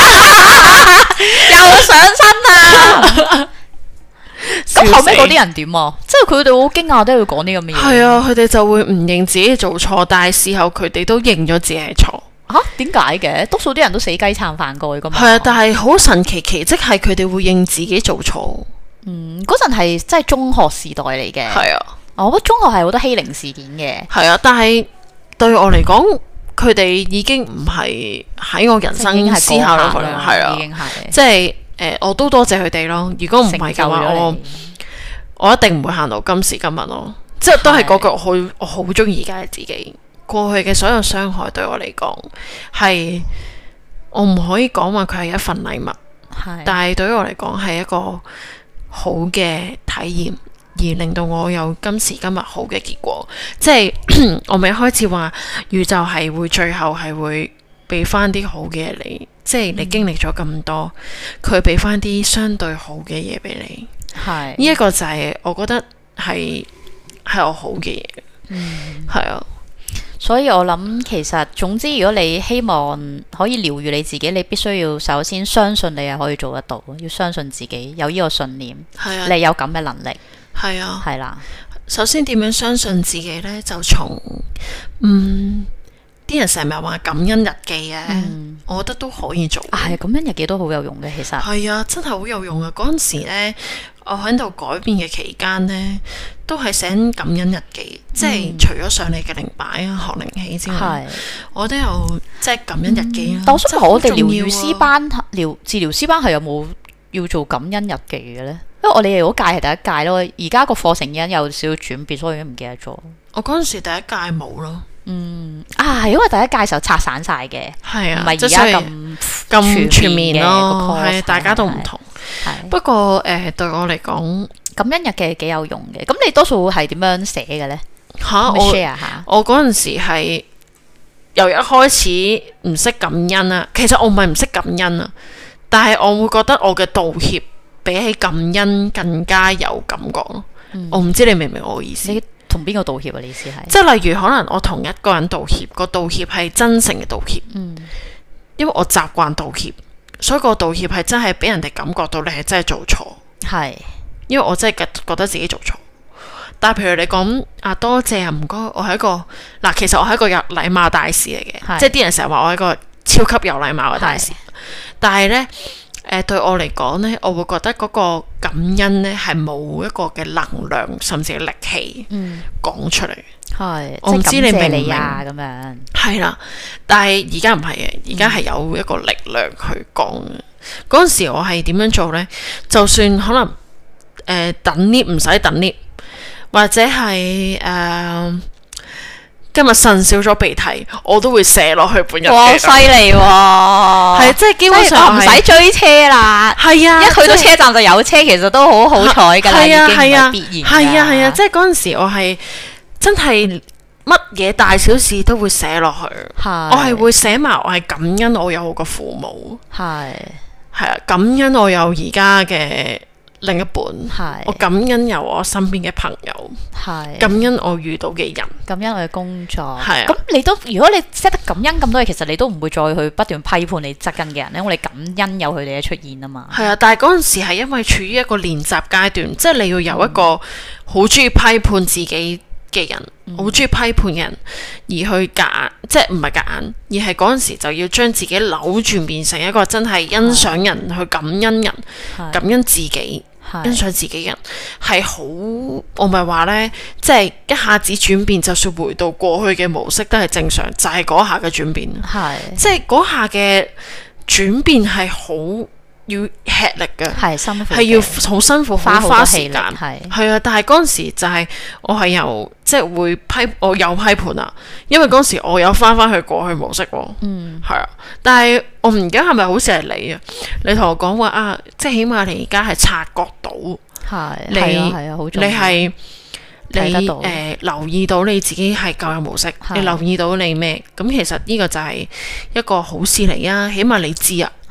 又上身啊！咁後尾嗰啲人點啊？即係佢哋好驚訝，都要講啲咁嘅嘢。 係啊，佢哋就會唔認自己做錯，但係事後佢哋都認咗自己係錯。 吓？點解嘅？多數啲人都死雞撐飯蓋噶嘛。 係啊，但係好神奇，奇蹟係佢哋會認自己做錯。 嗯，嗰陣係即係中學時代嚟嘅。 係啊， 我覺得中學係好多欺凌事件嘅。 係啊，但係對我嚟講，佢哋已經唔係喺我人生思考落去啦。係啊，已經係即係。誒、呃，我都多謝佢哋咯。如果唔係嘅話，我我一定唔會行到今時今日咯。即係都係嗰句，我好我好中意而家嘅自己。過去嘅所有傷害對我嚟講，係我唔可以講話佢係一份禮物，但係對於我嚟講係一個好嘅體驗，而令到我有今時今日好嘅結果。即係我咪一開始話宇宙係會最後係會俾翻啲好嘅嘢你。即係你經歷咗咁多，佢俾翻啲相對好嘅嘢俾你，係呢一個就係我覺得係係我好嘅嘢，嗯，係啊。 所以我諗其實總之，如果你希望可以療癒你自己，你必須要首先相信你係可以做得到，要相信自己有呢個信念，係啊，你有咁嘅能力， 係啊， 係啦。 首先點樣相信自己呢？就從嗯。啲人成日話感恩日記啊，嗯、我覺得都可以做。 係、啊、感恩日記都好有用嘅，其實係啊，真係好有用啊！嗰陣時咧，我喺度改變嘅期間呢，都係寫感恩日記，嗯、即係除咗上你嘅靈擺啊、學靈氣之外，是我都有即係感恩日記啊。 嗯、但我想問我哋療癒師班、療治療師班係有冇要做感恩日記嘅咧？因為我哋嗰屆係第一屆咯，而家個課程已經有少少轉變，所以已經唔記得咗。 我嗰陣時第一屆冇咯。 嗯啊，係因為第一屆嘅時候拆散晒嘅，係啊，唔係而家咁咁全面咯，係大家都唔同。 係不過誒，對我嚟講， 感恩日記幾有用嘅。咁你多數係點樣寫嘅咧？ 吓，我 share 下。我嗰陣時係由一開始唔識感恩啊，其實我唔係唔識感恩啊，但係我會覺得我嘅道歉比起感恩更加有感覺咯。我唔知你明唔明我嘅意思？ 同邊個道歉啊？你意思係？ 即係例如可能我同一個人道歉，個道歉係真誠嘅道歉，嗯，因為我習慣道歉，所以個道歉係真係俾人哋感覺到你係真係做錯，係是，因為我真係覺覺得自己做錯。但係譬如你講啊，多謝啊，唔該，我係一個嗱，其實我係一個有禮貌大使嚟嘅，是即係啲人成日話我係一個超級有禮貌嘅大使，是但係呢。誒、呃，對我嚟講呢，我會覺得嗰個感恩呢係冇一個嘅能量，甚至係力氣講出嚟。係、嗯，我唔知你明唔明啊？咁樣係啦，但係而家唔係嘅，而家係有一個力量去講嘅。嗰陣、嗯、時我係點樣做呢？就算可能誒、呃、等 lift 唔使等 lift，或者係誒。呃今日腎少咗鼻涕，我都會寫落去本日記。哇，犀利喎！係即係基本上唔使追車啦。係啊，一去到車站就有車，其實都好好彩㗎啦，已經唔係必然。係啊係啊，即係嗰陣時我係真係乜嘢大小事都會寫落去。係，我係會寫埋我係感恩我有我個父母。係係啊，感恩我有而家嘅另一半，係我感恩有我身邊嘅朋友，係感恩我遇到嘅人，感恩我嘅工作，係啊。咁你都如果你識得感恩咁多嘢，其實你都唔會再去不斷批判你側近嘅人，因為你感恩有佢哋嘅出現啊嘛。係啊，但係嗰陣時係因為處於一個練習階段，即係你要有一個好中意批判自己嘅人，好中意批判嘅人，而去夾硬，即係唔係夾硬，而係嗰陣時就要將自己扭轉變成一個真係欣賞人，去感恩人，感恩自己。欣賞自己人係好，我咪話呢，即係一下子轉變，就算回到過去嘅模式都係正常，就係嗰下嘅轉變，係即係嗰下嘅轉變係好要吃力嘅，係辛苦，係要好辛苦，花好多時間，係係啊。但係嗰陣時就係我係由即係會批，我有批判啊，因為嗰陣時我有翻翻去過去模式，嗯，係啊。但係我而家係咪好似係你啊？你同我講話啊，即係起碼你而家係察覺到，係你係啊，好重要，你係你誒、呃、留意到你自己係舊有模式，你留意到你咩？咁其實呢個就係一個好事嚟啊，起碼你知啊。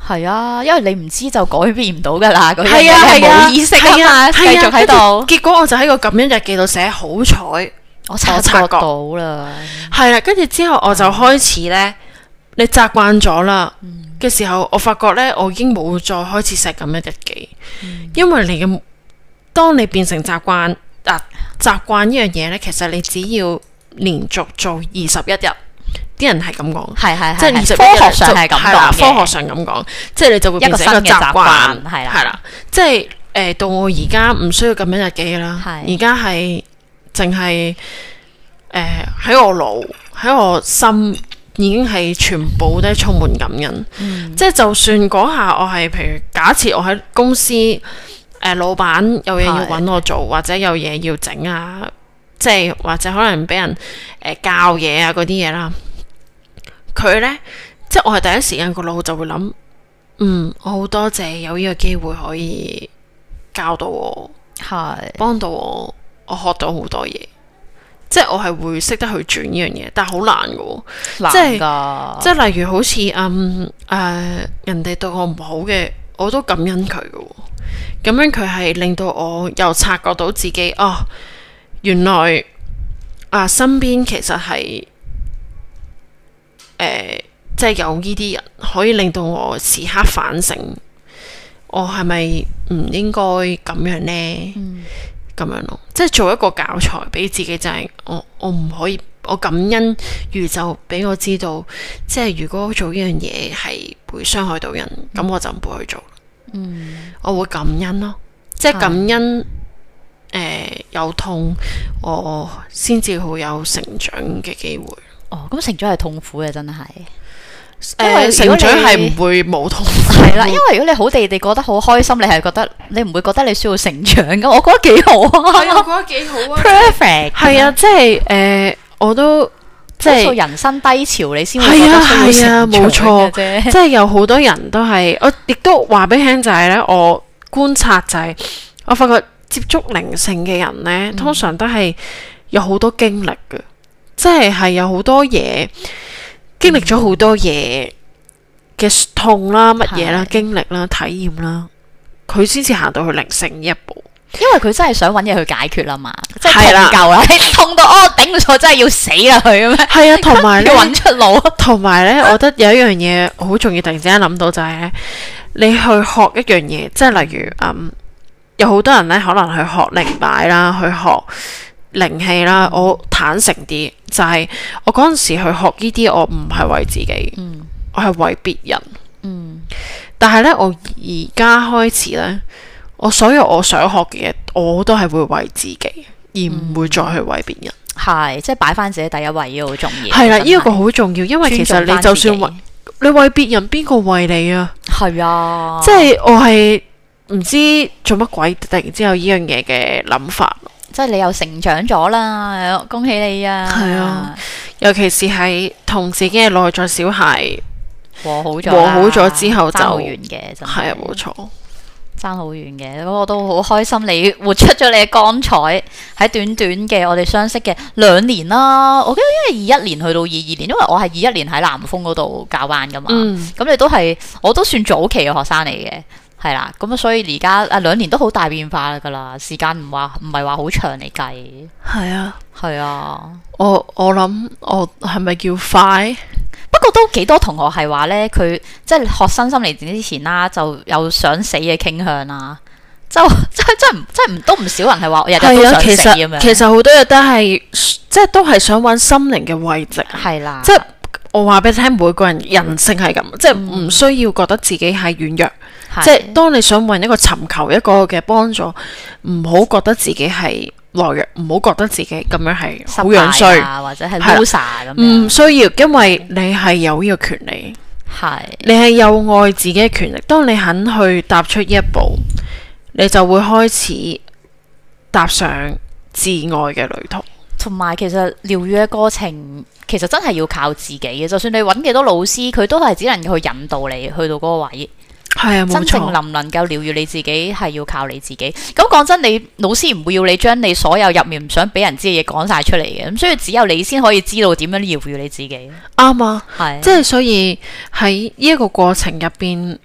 係啊，因為你唔知就改變唔到噶啦，嗰樣係啊係啊， 冇意識啊嘛，繼續喺度。 結果我就喺個感恩日記度寫好彩， 我察覺到啦。 係啦，跟住之後我就開始咧，你習慣咗啦嘅時候，我發覺咧，我已經冇再開始寫感恩日記，因為你嘅當你變成習慣啊習慣呢樣嘢咧，其實你只要連續做二十一日。啲人係咁講， 係係即係二十科學上係咁講嘅， 科學上咁講，即係你就會變成一個習慣，係啦，係啦，即係誒、呃、到我而家唔需要咁樣日記啦，而家係淨係誒喺我腦喺我心已經係全部都充滿感恩，嗯、即係就算嗰下我係譬如假設我喺公司誒、呃、老闆有嘢要揾我做，或者有嘢要整啊，即係或者可能俾人誒、呃、教嘢啊嗰啲嘢啦。佢呢，即係我係第一時間個腦就會諗，嗯，我好多謝有呢個機會可以教到我，係幫到我，我學到好多嘢，即係我係會識得去轉呢樣嘢，但係好難㗎，難噶，即係例如好似嗯誒、呃、人哋對我唔好嘅，我都感恩佢㗎，咁樣佢係令到我又察覺到自己哦，原來啊身邊其實係。誒、呃，即係有呢啲人可以令到我時刻反省，我係咪唔應該咁樣呢？咁、嗯、樣咯，即係做一個教材俾自己，就係、是、我我唔可以，我感恩宇宙俾我知道，即係如果做呢樣嘢係會傷害到人，咁、嗯、我就唔會去做。嗯，我會感恩咯，即係感恩。誒、呃，有痛，我先至會有成長嘅機會。哦， 咁成長係痛苦嘅，真係。 誒、呃，成長係唔會冇痛苦。 係啦，因為如果你好地地覺得好開心，你係覺得你唔會覺得你需要成長㗎。我覺得幾好啊， 係我覺得幾好啊 ，perfect。係啊， 即係誒，我都即係人生低潮，你先會覺得需要成長嘅啫。冇錯啫， 即係有好多人都係，我亦都話俾你聽就係咧，我觀察就係、是，我發覺接觸靈性嘅人咧，通常都係有好多經歷嘅。即係係有好多嘢經歷咗好多嘢嘅痛啦、乜嘢啦、經歷啦、體驗啦，佢先至行到去靈性呢一步。 因為佢真係想揾嘢去解決啦嘛，即係痛夠啦，痛到哦頂唔錯，真係要死啦佢咁樣。係啊，同埋要揾出路。同埋咧，我覺得有一樣嘢好重要，突然之間諗到就係、是、你去學一樣嘢，即係例如嗯，有好多人咧可能去學靈擺啦，去學。靈氣啦，我坦誠啲，就係、是、我嗰陣時去學呢啲，我唔係為自己，嗯、我係為別人。嗯、但係呢，我而家開始呢，我所有我想學嘅嘢，我都係會為自己，而唔會再去為別人。係、嗯，即係擺翻自己第一位，呢個好重要。係啦，呢、這個好重要，因為其實你就算為你為別人，邊個為你啊？係啊，即係我係唔知做乜鬼，突然之間有呢樣嘢嘅諗法。即係你又成長咗啦，恭喜你啊！係啊，尤其是係同自己嘅內在小孩和好咗，和好咗之後就爭好遠嘅，真係係啊，冇錯，爭好遠嘅。咁我都好開心，你活出咗你嘅光彩喺短短嘅我哋相識嘅兩年啦。我記得因為二一年去到二二年，因為我係二一年喺南豐嗰度教班噶嘛，咁、嗯、你都係我都算早期嘅學生嚟嘅。係啦，咁啊，所以而家啊兩年都好大變化噶啦，時間唔話唔係話好長嚟計。係啊，係啊，我我諗我係咪叫快？不過都幾多同學係話咧，佢即係學新心靈之前啦，就有想死嘅傾向啦，就即係真唔真唔都唔少人係話日日都想死咁樣。其實好多嘢都係即係都係想揾心靈嘅慰藉。係啦，即係我話俾你聽，每個人人性係咁，嗯、即係唔需要覺得自己係軟弱。即係當你想揾一個尋求一個嘅幫助，唔好覺得自己係懦弱，唔好覺得自己咁樣係好樣衰啊，或者係 loser 咁樣。唔需要，因為你係有呢個權利，係你係有愛自己嘅權利。當你肯去踏出呢一步，你就會開始踏上自愛嘅旅途。同埋，其實療癒嘅過程，其實真係要靠自己嘅。就算你揾幾多老師，佢都係只能夠去引導你去到嗰個位。係啊，冇錯。真正能唔能夠療癒你自己，係要靠你自己。咁講真，你老師唔會要你將你所有入面唔想俾人知嘅嘢講晒出嚟嘅。咁所以只有你先可以知道點樣療癒你自己。啱啊，係。即係所以喺呢一個過程入邊，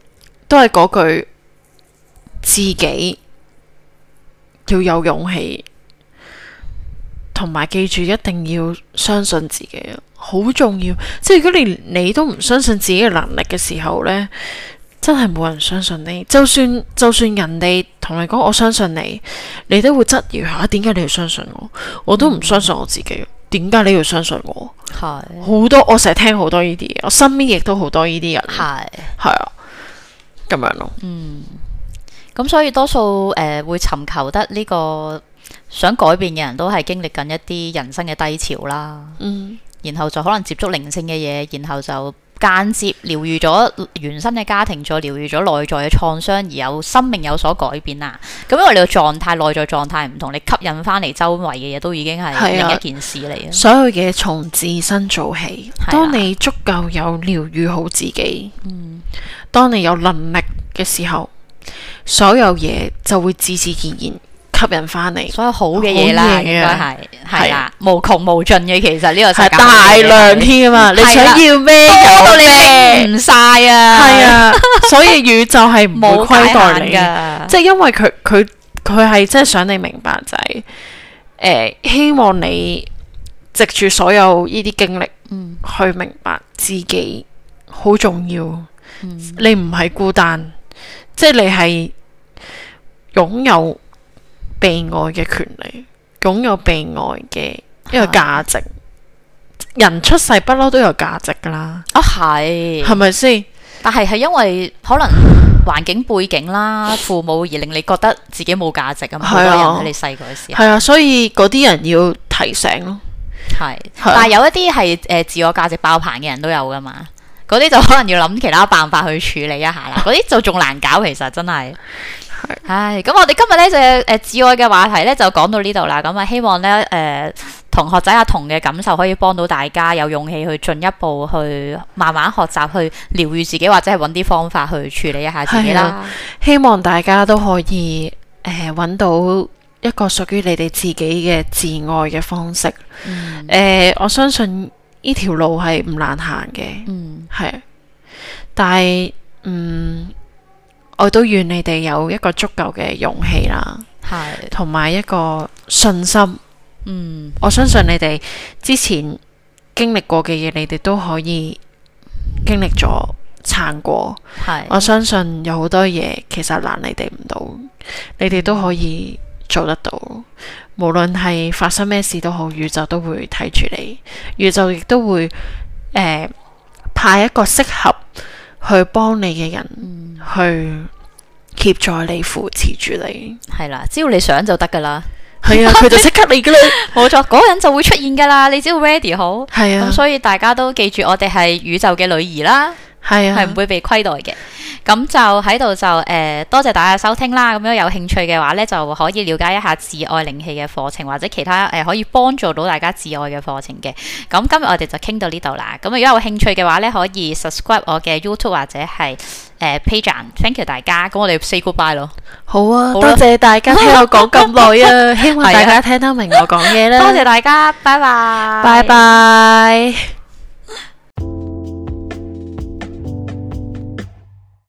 都係嗰句，自己要有勇氣，同埋記住一定要相信自己，好重要。即係如果連你都唔相信自己嘅能力嘅時候呢，真係冇人相信你。就算就算人哋同你講我相信你，你都會質疑下點解你要相信我？我都唔相信我自己，點解你要相信我？係好多，我成日聽好多呢啲嘢，我身邊亦都好多呢啲人，係係啊，咁樣咯。嗯， 咁所以多數誒、呃、會尋求得呢個想改變嘅人都係經歷緊一啲人生嘅低潮啦。嗯，然後就可能接觸靈性嘅嘢，然後就間接療愈咗原生嘅家庭，再療愈咗內在嘅創傷，而有生命有所改變啦。咁因為你個狀態內在狀態唔同，你吸引翻嚟周圍嘅嘢都已經係另一件事嚟嘅。 所有嘢從自身做起，當你足夠有療愈好自己，嗯，當你有能力嘅時候，所有嘢就會自自然然吸引翻嚟， 所有好嘅嘢啦，應該係係啦，無窮無盡嘅。其實呢個世界係大量添啊！你想要咩多到你食唔晒啊！ 係啊，所以宇宙係唔會虧待你嘅，即係因為佢佢佢係真係想你明白就係誒，希望你藉住所有呢啲經歷，嗯，去明白自己好重要。嗯，你唔係孤單，即係你係擁有被愛嘅權利，擁有被愛嘅一個價值。人出世不嬲都有價值噶啦。 啊，係， 係咪先？ 但係係因為可能環境背景啦，父母而令你覺得自己冇價值啊嘛。好多人喺你細個嘅時候。係啊，所以嗰啲人要提醒咯。係， 但係有一啲係誒自我價值爆棚嘅人都有噶嘛。嗰啲就可能要諗其他辦法去處理一下啦。嗰啲就仲難搞，其實真係。唉，咁我哋今日咧就誒、呃、自愛嘅話題咧就講到呢度啦。咁啊，希望咧誒、呃、同學仔阿童嘅感受可以幫到大家，有勇氣去進一步去慢慢學習去療愈自己，或者係揾啲方法去處理一下自己啦。 希望大家都可以誒揾、呃、到一個屬於你哋自己嘅自愛嘅方式。嗯呃、我相信呢條路係唔難行嘅。嗯，係，但係嗯。我都願你哋有一個足夠嘅勇氣啦，係，同埋一個信心。嗯，我相信你哋之前經歷過嘅嘢，你哋都可以經歷咗撐過。係，我相信有好多嘢其實難你哋唔到，你哋都可以做得到。無論係發生咩事都好，宇宙都會睇住你，宇宙亦都會誒、呃、派一個適合去幫你嘅人，嗯、去協助你、扶持住你。 係啦，只要你想就得噶啦。 係啊，佢就即刻嚟噶啦。 冇錯，嗰人就會出現噶啦。你只要 ready 好。係啊。咁所以大家都記住，我哋係宇宙嘅女兒啦。係啊，係唔會被虧待嘅。咁就喺度就誒、呃，多謝大家收聽啦。咁樣有興趣嘅話咧，就可以了解一下自愛靈氣嘅課程，或者其他誒、呃、可以幫助到大家自愛嘅課程嘅。咁今日我哋就傾到呢度啦。咁如果有興趣嘅話咧，可以 subscribe 我嘅 YouTube 或者係誒 page。Thank you 大家。咁我哋 say goodbye 咯。 好啊，好多謝大家聽我講咁耐啊，希望大家聽得明我講嘢啦。 多謝大家，拜拜， 拜拜。